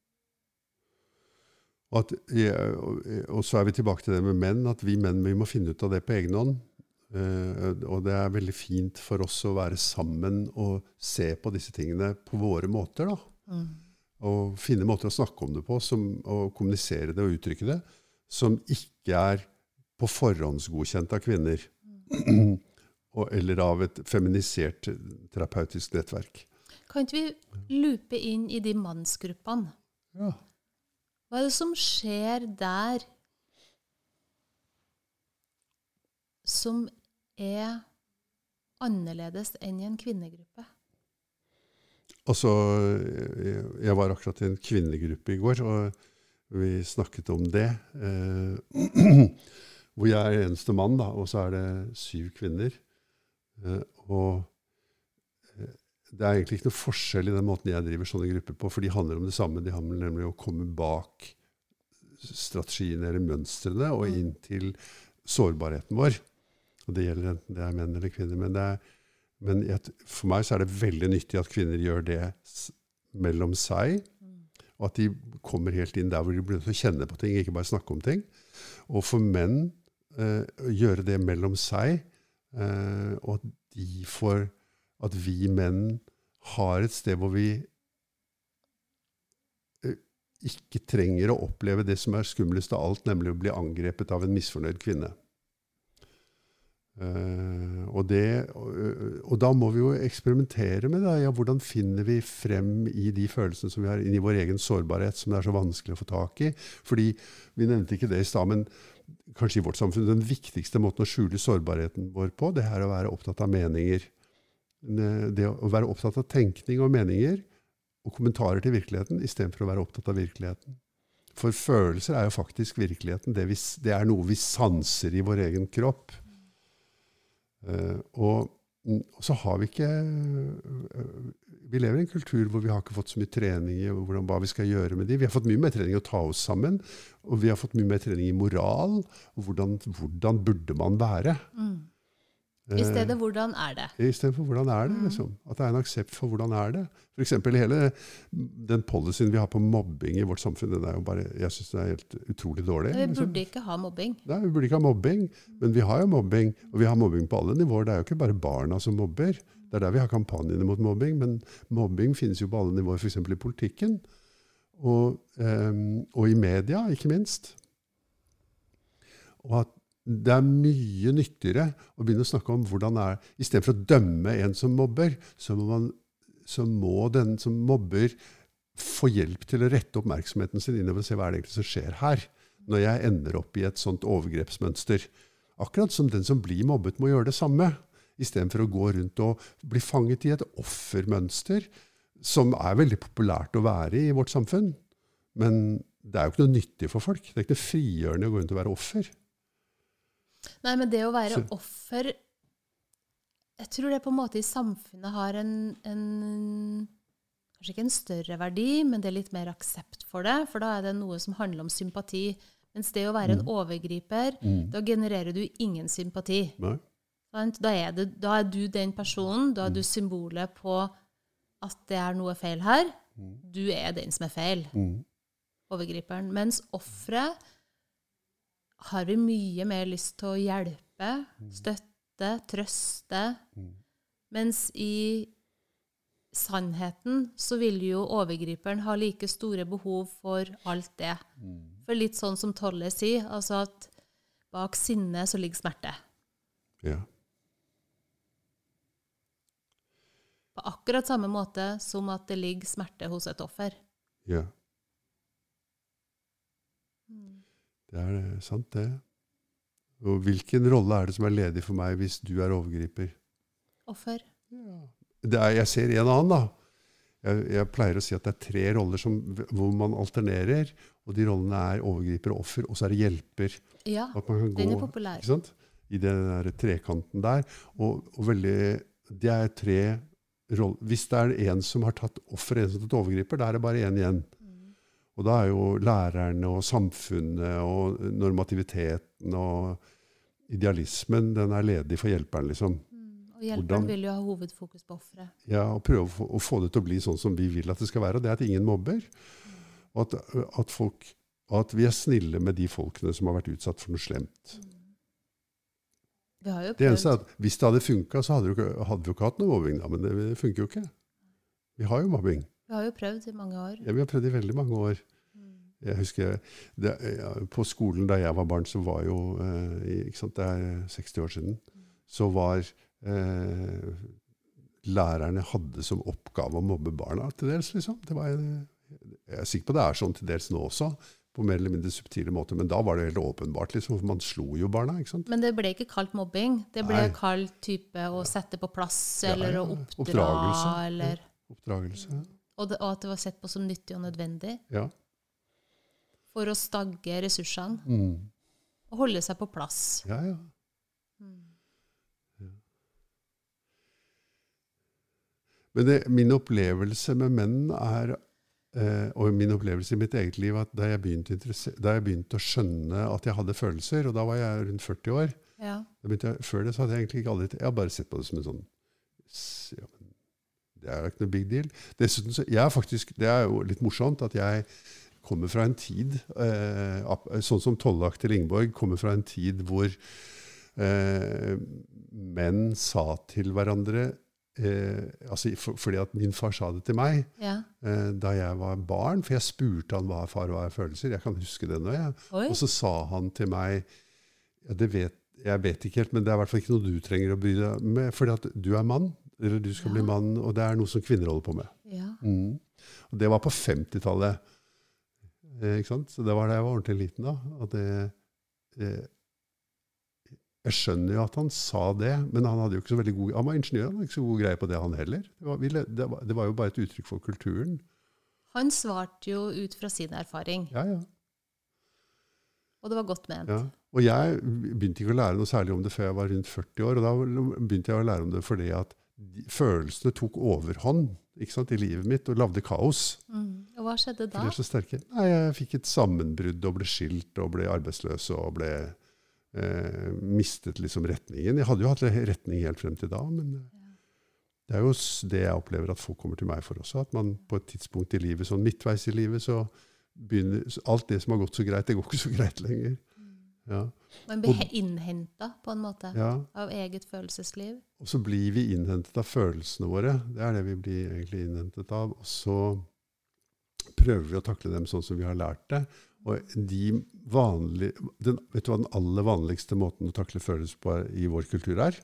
Og, at, ja, og, og så er vi tilbake til det med menn, at vi menn vi må finne ut av det på egen hånd. Uh, og det er veldig fint for oss å være sammen og se på disse tingene på våre måter da. Mm. Og finne måter å snakke om det på, som, og kommunisere det og uttrykke det, som ikke er på forhåndsgodkjent av kvinner, mm. og, eller av et feminisert terapeutisk nettverk. Kan ikke vi lupe inn i de mannsgruppene? Ja. Hva er det som skjer der som er annerledes enn i en kvinnegruppe? Altså, jeg var akkurat i en kvinnegruppe i går, og vi snakket om det, eh, hvor jeg er eneste mann, da, og så er det syv kvinner. Eh, og det er egentlig ikke noe forskjell i den måten jeg driver sånne grupper på, for de handler om det samme. De handler nemlig om å komme bak strategiene eller mønstrene og inn til sårbarheten vår. Og det gjelder enten det er menn eller kvinner, men det er Men jeg, for meg så er det veldig nyttig at kvinner gjør det mellom seg, og at de kommer helt inn der hvor de blir nødt til å kjenne på ting, ikke bare snakke om ting. Og for menn eh, gjøre det mellom seg, eh, og at de får, at vi menn har et sted hvor vi eh, ikke trenger å oppleve det som er skumlest av alt, nemlig å bli angrepet av en misfornøyd kvinne. Uh, og, det, og, og da må vi jo eksperimentere med det. Ja, hvordan finner vi frem i de følelsene som vi har inn i vår egen sårbarhet, som det er så vanskelig å få tak i? Fordi vi nevnte ikke det i sted, men kanskje i vårt samfunn den viktigste måten å skjule sårbarheten vår på, det er å være opptatt av meninger. Det å være opptatt av tenkning og meninger og kommentarer til virkeligheten, i stedet for å være opptatt av virkeligheten. For følelser er jo faktisk virkeligheten. Det, vi, det er noe vi sanser i vår egen kropp. Uh, og, og så har vi ikke uh, vi lever i en kultur hvor vi har ikke fått så mye trening i hvordan, hva vi skal gjøre med de. Vi har fått mye mer trening i å ta oss sammen, og vi har fått mye mer trening i moral, og hvordan, hvordan burde man være. Mm. I stedet hvordan er det? I stedet for hvordan er det, liksom. At det er en aksept for hvordan er det. For eksempel hele den policyen vi har på mobbing i vårt samfunn, den er jo bare, jeg synes den er helt utrolig dårlig. Vi burde liksom. ikke ha mobbing. Nei, vi burde ikke ha mobbing, men vi har jo mobbing, og vi har mobbing på alle nivåer. Det er jo ikke bare barna som mobber. Det er der vi har kampanjene mot mobbing, men mobbing finnes jo på alle nivåer, for eksempel i politikken, og, um, og i media, ikke minst. Og at det er mye nyttigere å begynne å snakke om hvordan det er. I stedet for å dømme en som mobber, så må, man, så må den som mobber få hjelp til å rette oppmerksomheten sin innover og se hva er det egentlig som skjer her, når jeg ender opp i et sånt overgrepsmønster. Akkurat som den som blir mobbet må gjøre det samme, i stedet for å gå rundt og bli fanget i et offermønster, som er veldig populært å være i i vårt samfunn. Men det er jo ikke noe nyttig for folk. Det er ikke noe frigjørende å gå rundt og være offer. Nei, men det å være Så. offer, jeg tror det på en måte i samfunnet har en, en, kanskje ikke en større verdi, men det er litt mer aksept for det, for da er det noe som handler om sympati. Mens det å være en overgriper, Mm. da genererer du ingen sympati. Nei? Sant? Da er, det, da er du den personen, da er du symbolet på at det er noe feil her. Du er den som er feil, Mm. overgriperen. Mens offeret har vi mye mer lyst til å hjelpe, støtte, trøste. Mens i sannheten så vil jo overgriperen ha like store behov for alt det. For litt sånn som Tolle sier, altså at bak sinne så ligger smerte. Ja. På akkurat samme måte som at det ligger smerte hos et offer. Ja. Det er sant, det. Og hvilken rolle er det som er ledig for meg hvis du er overgriper? Offer. Ja. Det er, jeg ser en annen, da. Jeg, jeg pleier å si at det er tre roller som, hvor man alternerer, og de rollene er overgriper og offer, og så er det hjelper. Ja, At man kan den gå, er populær. ikke sant? I den der trekanten der. Og, og veldig, det er tre roller. Hvis det er en som har tatt offer, en som har tatt overgriper, da er det bare en igjen. Og da er jo lærerne og samfunnet og normativiteten og idealismen, den er ledig for hjelperen, liksom. Og hjelperen vil jo ha hovedfokus på offeret. Ja, og prøve å få, å få det til å bli sånn som vi vil at det skal være, og det er at ingen mobber. Og at, at, folk, at vi er snille med de folkene som har vært utsatt for noe slemt. Vi har jo Det eneste er prøvd. at hvis det hadde funket, så hadde, det jo ikke- hadde vi jo ikke hatt noe mobbing, da, men det, det funker jo ikke. Vi har jo mobbing. Vi har jo prøvd i mange år. Ja, vi har prøvd i veldig mange år. Jeg husker, det, ja, på skolen da jeg var barn, så var jo, eh, ikke sant, det er seksti år siden, så var eh, lærerne hadde som oppgave å mobbe barna til dels, liksom. Det var, jeg er sikker på det er sånn til dels nå også, på mer eller mindre subtile måter, men da var det helt åpenbart, liksom, for man slo jo barna, ikke sant? Men det ble ikke kalt mobbing. Det ble Nei. kalt type å sette på plass, Ja, eller ja. å oppdra, Oppdragelse. eller, Oppdragelse. og, det, og at det var sett på som nyttig og nødvendig Ja. for å stagge ressursene Mm. og holde seg på plass. Ja, ja. Ja. Men det, min opplevelse med menn er, eh, og min opplevelse i mitt eget liv, at da jeg, begynte, da jeg begynte å skjønne at jeg hadde følelser, og da var jeg rundt førti år, Ja. da begynte jeg, før det så hadde jeg egentlig ikke aldri, jeg har bare sett på det som en sånn, ja, men det er ikke noe big deal. Dessuten, så, jeg er faktisk, det er jo litt morsomt at jeg kommer fra en tid, eh, sånn som Tollak til Ingeborg, kommer fra en tid hvor eh, menn sa til hverandre, eh, altså for, fordi at min far sa det til meg, Ja. eh, da jeg var barn, for jeg spurte han hva far var følelser, jeg kan huske det nå, jeg. Oi. Og så sa han til meg, ja, det vet, jeg vet ikke helt, men det er i hvert fall ikke noe du trenger å bry deg med, fordi at du er mann, eller du skal Ja. bli mann, og det er noe som kvinner holder på med. Ja. Mm. Og det var på femtitallet. Eh, ikke sant? Så det var da jeg var ordentlig liten da. At det, eh, jeg skjønner jo at han sa det, men han hadde jo ikke så veldig god, han var ingeniør, han hadde ikke så god greie på det han heller. Det var, vi le- det var, det var jo bare et uttrykk for kulturen. Han svarte jo ut fra sin erfaring, Ja, ja. og det var godt ment. ja. Og jeg begynte ikke å lære noe særlig om det før jeg var rundt førti år, og da begynte jeg å lære om det fordi at de, følelsene tok overhånd, ikke sant, i livet mitt, og lagde kaos. Mm. Og hva skjedde For da? de er så sterke. Nei, jeg fikk et sammenbrudd og ble skilt og ble arbeidsløs og ble eh, mistet liksom retningen. Jeg hadde jo hatt retning helt frem til da, men ja. Det er jo det jeg opplever at folk kommer til meg for også, at man på et tidspunkt i livet, sånn midtveis i livet, så begynner alt det som har gått så greit, det går ikke så greit lenger. Ja. Man blir innhentet på en måte ja. Av eget følelsesliv. Og så blir vi innhentet av følelsene våre. Det er det vi blir egentlig innhentet av. Og så prøver vi å takle dem sånn som vi har lært det. Og de vanlige, den, vet du hva den aller vanligste måten å takle følelser på i vår kultur er?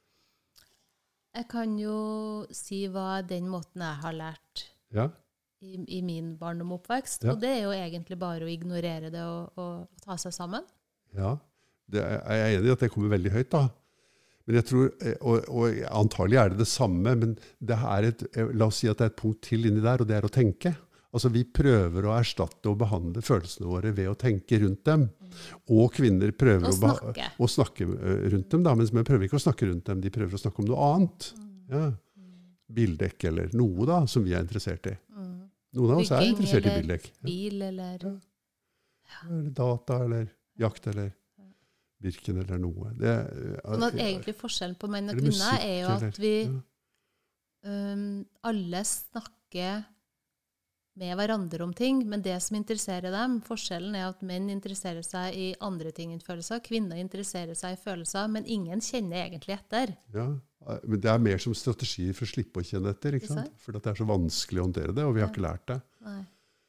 Jeg kan jo si hva den måten jeg har lært ja. i, i min barndom og oppvekst. Ja. Og det er jo egentlig bare å ignorere det og, og, og ta seg sammen. Ja, det er, jeg er enig i at det kommer veldig høyt da. Men jeg tror, og, og antagelig er det det samme, men det er et, la oss si at det er et punkt til inni der, og det er å tenke. Altså vi prøver å erstatte og behandle følelsene våre ved å tenke rundt dem. Mm. Og kvinner prøver å snakke. Å, å snakke rundt dem, da, men vi prøver ikke å snakke rundt dem, de prøver å snakke om noe annet. Mm. Ja. Bildekk eller noe da, som vi er interessert i. Mm. Noen av oss er interessert i bildekk. Bil eller... Ja. Ja. Eller data eller... jakt eller virken eller noe. Det, sånn at egentlig forskjellen på menn og kvinner er jo at vi ja. um, alle snakker med hverandre om ting, men det som interesserer dem, forskjellen er at menn interesserer seg i andre ting enn følelser, kvinner interesserer seg i følelser, men ingen kjenner egentlig etter. Ja, men det er mer som strategi for å slippe å kjenne etter, ikke sant? For det er så vanskelig å håndtere det, og vi har ja. Ikke lært det. Nei.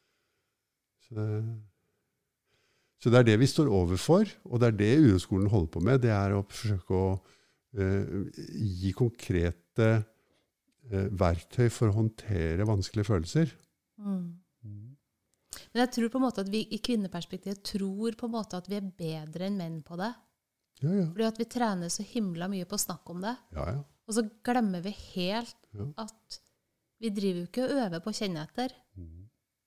Så det Så det er det vi står overfor, og det er det uroskolen holder på med. Det er å forsøke å uh, gi konkrete uh, verktøy for å håndtere vanskelige følelser. Mm. Mm. Men jeg tror på en måte at vi i kvinneperspektivet tror på en måte at vi er bedre enn menn på det. Ja, ja. Fordi at vi trener så himla mye på å snakke om det. Ja, ja. Og så glemmer vi helt ja. At vi driver jo ikke og øver på å kjenne etter. Mm.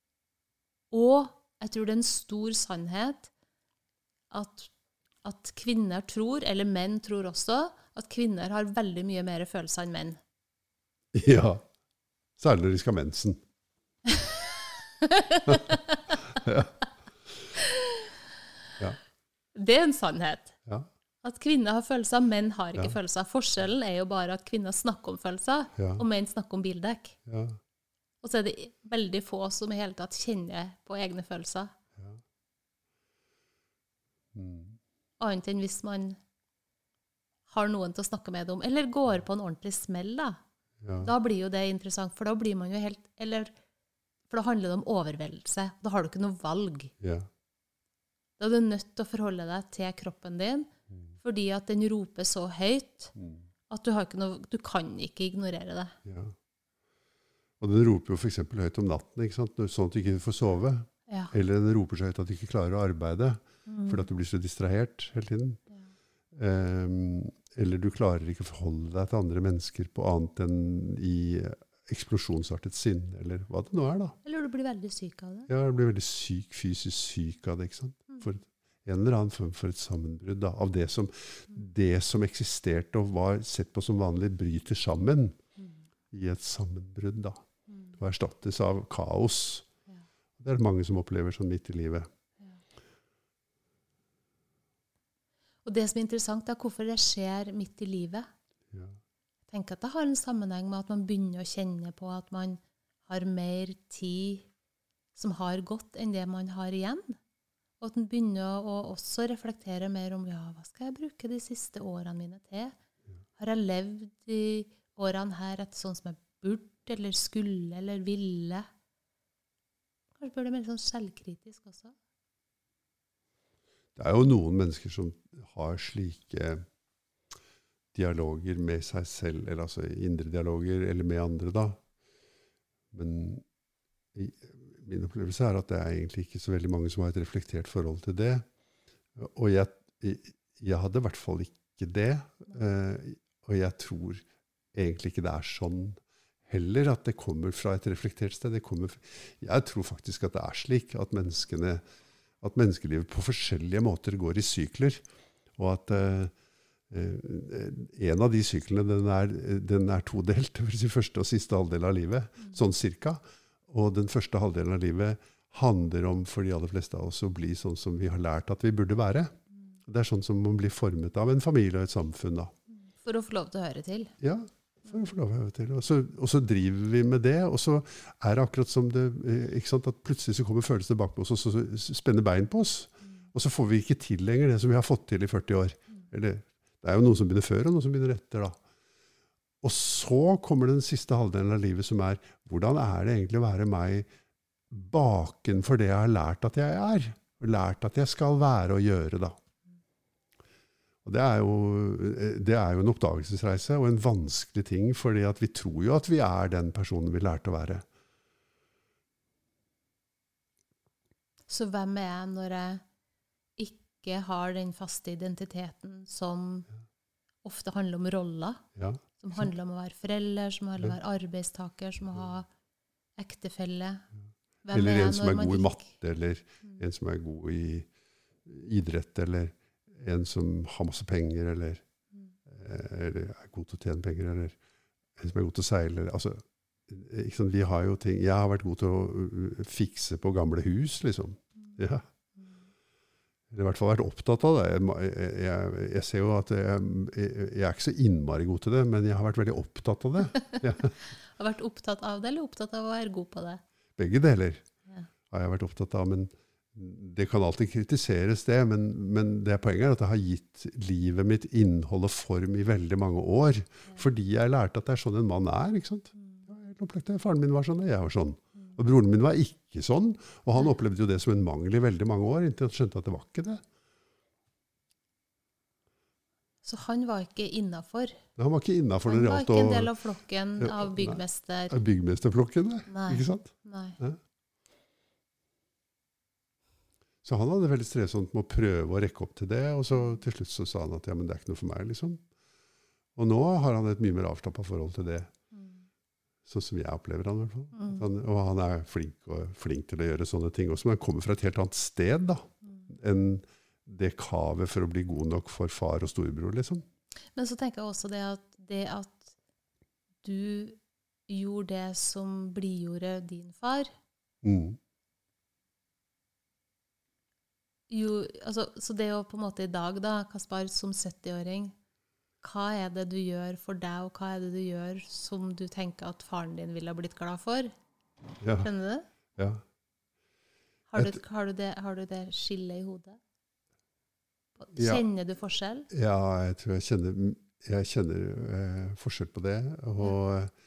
Og jeg tror det er en stor sannhet at, at kvinner tror, eller menn tror også, at kvinner har veldig mye mer følelser enn menn. Ja, særlig når de skal ha mensen. ja. Ja. Det er en sannhet. Ja. At kvinner har følelser, menn har ikke ja. Følelser. Forskjellen er jo bare at kvinner snakker om følelser, ja. Og menn snakker om bildekk. Ja. Og så er det veldig få som i hele tatt kjenner på egne følelser. Ja. Mm. Annet enn hvis man har noen til å snakke med om, eller går på en ordentlig smell da. Ja. Da blir jo det interessant, for da blir man jo helt, eller, for da handler det om overveldelse. Da har du ikke noe valg. Ja. Da er du nødt til å forholde deg til kroppen din, mm. fordi at den roper så høyt, mm. at du, har ikke noe, du kan ikke ignorere det. Ja. Og den roper jo for eksempel høyt om natten, ikke sant? Sånn at du ikke får sove. Ja. Eller den roper så høyt at du ikke klarer å arbeide, mm. fordi at du blir så distrahert hele tiden. Ja. Um, eller du klarer ikke å forholde deg til andre mennesker på annet enn i eksplosjonsartet sinn, eller hva det nå er da. Eller du blir veldig syk av det. Ja, du blir veldig syk, fysisk syk av det, ikke sant? Mm. For en eller annen form for et sammenbrudd da, av det som, mm. det som eksisterte og var sett på som vanlig bryter sammen mm. i et sammenbrudd da. Og erstattes av kaos. Ja. Det er mange som opplever sånn midt i livet. Ja. Og det som er interessant er hvorfor det skjer midt i livet. Ja. Jeg tenker at det har en sammenheng med at man begynner å kjenne på at man har mer tid som har gått enn det man har igjen. Og at man begynner å også reflektere mer om, ja, hva skal jeg bruke de siste årene mine til? Ja. Har jeg levd de årene her etter sånn som jeg burde, eller skulle, eller ville? Kanskje bør det mer sånn selvkritisk også? Det er jo noen mennesker som har slike dialoger med seg selv, eller altså indre dialoger, eller med andre da. Men i, min opplevelse er at det er egentlig ikke så veldig mange som har et reflektert forhold til det. Og jeg, jeg hadde i hvert fall ikke det. Eh, og jeg tror egentlig ikke det er sånn heller at det kommer fra et reflektert sted. Det kommer, jeg tror faktisk at det er slik at menneskene, at menneskelivet på forskjellige måter går i sykler, og at uh, en av de syklene den er, den er todelt, det vil si første og siste halvdel av livet, mm. sånn cirka, og den første halvdelen av livet handler om for de aller fleste av oss å bli sånn som vi har lært at vi burde være. Det er sånn som man blir formet av en familie og et samfunn da. For å få lov til å høre til. Ja, for å få lov til å høre til. Og så, og så driver vi med det, og så er det akkurat som det, ikke sant, at plutselig så kommer følelsen tilbake på oss, og så spenner bein på oss. Og så får vi ikke til lenger det som vi har fått til i førti år. Eller, det er jo noen som begynner før, og noen som begynner etter da. Og så kommer den siste halvdelen av livet som er, hvordan er det egentlig å være meg baken for det jeg har lært at jeg er? Og lært at jeg skal være og gjøre da. Og det er, jo, det er jo en oppdagelsesreise og en vanskelig ting, fordi at vi tror jo at vi er den personen vi lærte å være. Så hvem er jeg når jeg ikke har den faste identiteten som ofte handler om roller? Ja. Som handler om å være forelder, som handler om å være arbeidstaker, som å ha ektefelle. Hvem eller en som er når god i man matte, eller mm. en som er god i idrett, eller en som har masse penger, eller, mm. eller er god til å tjene penger, eller en som er god til å seile. Altså, ikke sant? Vi har jo ting, jeg har vært god til å fikse på gamle hus, liksom. Ja. Eller i hvert fall vært opptatt av det. Jeg, jeg, jeg ser jo at jeg, jeg er ikke så innmari god til det, men jeg har vært veldig opptatt av det. Ja. Har vært opptatt av det, eller opptatt av å være god på det? Begge deler ja. Har jeg vært opptatt av, men det kan alltid kritiseres det, men, men det poenget er at det har gitt livet mitt innhold og form i veldig mange år, ja. Fordi jeg lærte at det er sånn en mann er, ikke sant? Ja, faren min var sånn, og jeg var sånn. Og broren min var ikke sånn, og han opplevde jo det som en mangel i veldig mange år, inntil han skjønte at det var ikke det. Så han var ikke innenfor? Han var ikke innenfor. Han det var ikke en del av flokken ja, av byggmester? Nei, av byggmesterflokken, nei. Ikke sant? Nei. Ja. Så han hadde veldig strevsomt med å prøve å rekke opp til det, og så til slutt så sa han at ja, men det er ikke noe for meg, liksom. Og nå har han et mye mer avslappet forhold til det. Sånn som jeg opplever han i hvert fall. Mm. Han, og han er flink, og flink til å gjøre sånne ting også, men han kommer fra et helt annet sted da, mm. enn det kavet for å bli god nok for far og storebror, liksom. Men så tenker jeg også det at, det at du gjorde det som blidgjorde din far, mm. jo, altså, så det å på en måte i dag da, Kaspar, som sytti-åring, hva er det du gjør for deg, og hva er det du gjør som du tenker at faren din ville ha blitt glad for? Ja. Skjønner du det? Ja. Har du, har, du det, har du det skillet i hodet? Kjenner ja. Du forskjell? Ja, jeg tror jeg kjenner, jeg kjenner eh, forskjell på det. Og,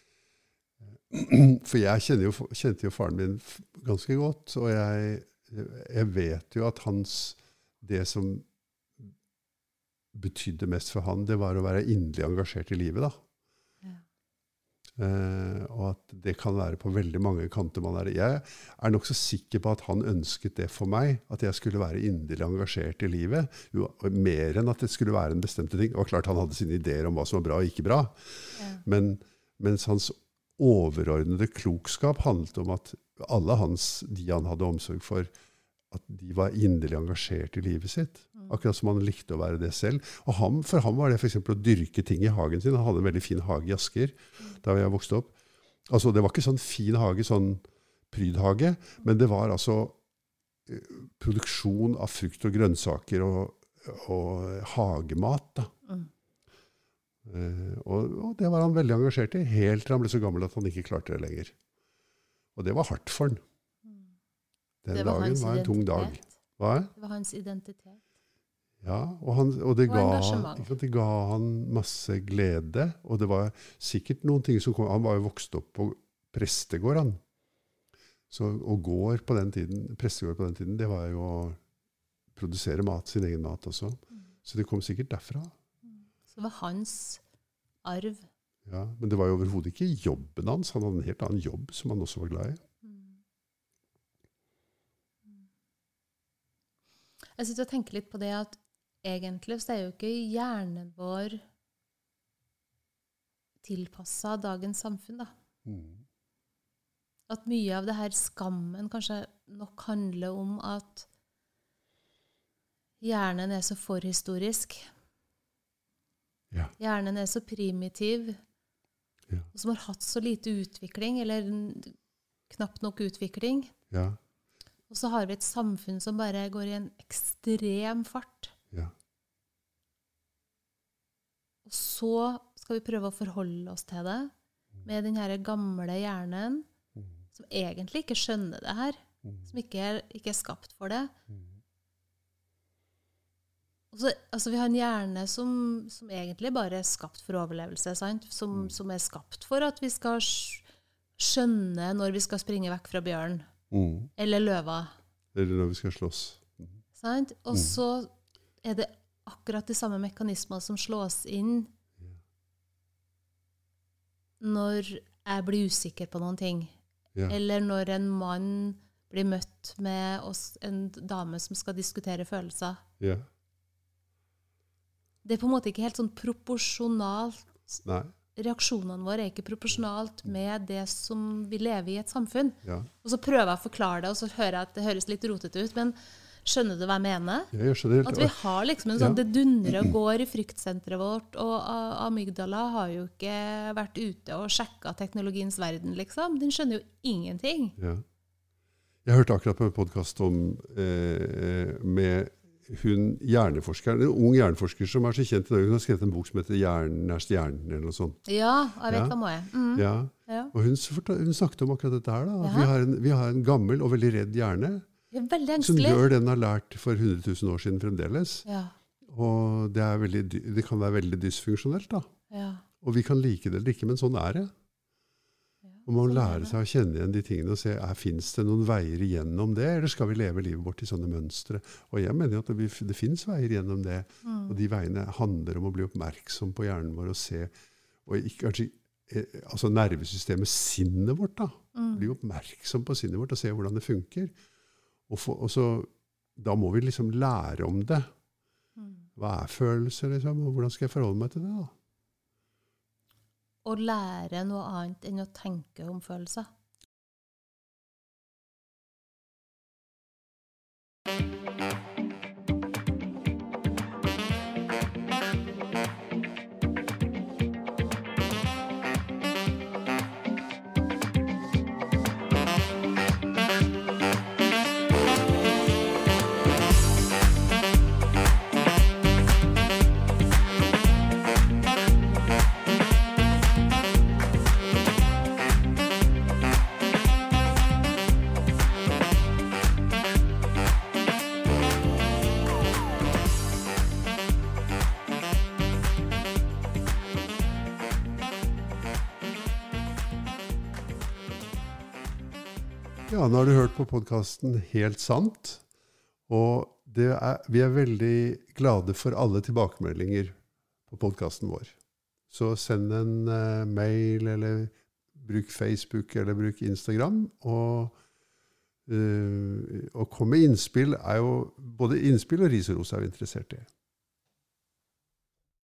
for jeg kjenner jo, kjente jo faren min ganske godt, og jeg, jeg vet jo at hans, det som betydde mest for han, det var å være inderlig engasjert i livet da. Ja. Eh, og at det kan være på veldig mange kanter man er. Jeg er nok så sikker på at han ønsket det for meg, at jeg skulle være inderlig engasjert i livet, jo, mer enn at det skulle være en bestemte ting. Det var klart han hadde sine ideer om hva som var bra og ikke bra, ja. Men mens hans overordnede klokskap handlet om at alle hans, de han hadde omsorg for, at de var inderlig engasjert i livet sitt. Akkurat som han likte å være det selv. Og han, for ham var det for eksempel å dyrke ting i hagen sin. Han hadde en veldig fin hage i Asker, da jeg vokste opp. Altså, det var ikke sånn fin hage, sånn prydhage, men det var altså eh, produksjon av frukt og grønnsaker og, og hagemat. Da. Mm. Eh, og, og det var han veldig engasjert i, helt til han ble så gammel at han ikke klarte det lenger. Og det var hardt for han. Den det var dagen var en tung dag. Hva? Det var hans identitet. Ja, og, han, og, det, og ga, ikke, det ga han masse glede, og det var sikkert noen ting som kom. Han var jo vokst opp på prestegård, han. Så, og gård på den tiden, prestegård på den tiden, det var jo å produsere mat, sin egen mat også. Mm. Så det kom sikkert derfra. Så det var hans arv. Ja, men det var jo overhodet ikke jobben hans. Han hadde en helt annen jobb som han også var glad i. Jeg sitter og tenker litt på det at egentlig så er jo ikke hjernen vår tilpasset dagens samfunn da. Mm. At mye av det her skammen kanskje nok handler om at hjernen er så forhistorisk. Ja. Hjernen er så primitiv, ja. Og som har hatt så lite utvikling, eller knapt nok utvikling. Ja. Og så har vi et samfunn som bare går i en ekstrem fart. Ja. Og så skal vi prøve å forholde oss til det med den her gamle hjernen, Mm. som egentlig ikke skjønner det her, Mm. som ikke er, ikke er skapt for det. Mm. Og så, altså vi har en hjerne som, som egentlig bare er skapt for overlevelse, sant? Som, Mm. som er skapt for at vi skal skjønne når vi skal springe vekk fra bjørn, Mm. eller løva. Eller når vi skal slåss. Mm. Sant? Og Mm. så er det akkurat de samme mekanismer som slås inn når jeg blir usikker på noen ting. Ja. Eller når en mann blir møtt med oss, en dame som skal diskutere følelser. Ja. Det er på en måte ikke helt sånn proporsjonalt. Nei. Reaksjonene våre er ikke proporsjonalt med det som vi lever i et samfunn. Ja. Og så prøver jeg å forklare det, og så hører jeg at det høres litt rotete ut, men skjønner du hva jeg mener? Ja, jeg skjønner helt. At vi har liksom en sånn, Ja. det dundrer og går i fryktsentret vårt, og A- amygdala har jo ikke vært ute og sjekket teknologiens verden, liksom. Den skjønner jo ingenting. Ja. Jeg hørte akkurat på en podcast om eh, med hun hjerneforskeren, en ung hjerneforsker som er så kjent i Norge. Hun har skrevet en bok som heter Hjernen er stjernen, eller noe sånt. Ja, jeg vet Ja. hva må jeg. Mm. Ja. Ja. Og hun, fortal- hun snakket om akkurat dette her. Da. At Ja. vi, har en, vi har en gammel og veldig redd hjerne, Det er veldig som engstelig. gjør den har lært for hundre tusen år siden fremdeles. Ja, Og det, er veldig, dy- det kan være veldig dysfunksjonelt. Da. ja. Og vi kan like det eller ikke, men sånn er det. ja. Og man må Sånn er lære det. seg å kjenne igjen de tingene og se, er, finnes det noen veier igjennom det, eller skal vi leve livet vårt i sånne mønstre? Og jeg mener jo at det, vi- det finnes veier igjennom det, Mm. og de veiene handler om å bli oppmerksom på hjernen vår og se, og ikke kanskje, eh, altså nervesystemet, sinnet vårt da, Mm. bli oppmerksom på sinnet vårt og se hvordan det funker. Og, få, og så, da må vi liksom lære om det. Mm. Hva er følelser, liksom, og hvordan skal jeg forholde meg til det da? Å lære noe annet enn å tenke om følelser. Ja, nå har du hørt på podcasten Helt sant, og det er, vi er veldig glade for alle tilbakemeldinger på podcasten vår. Så send en uh, mail, eller bruk Facebook, eller bruk Instagram, og, uh, og kom med innspill, er jo, både innspill og ris og ros er vi interessert i.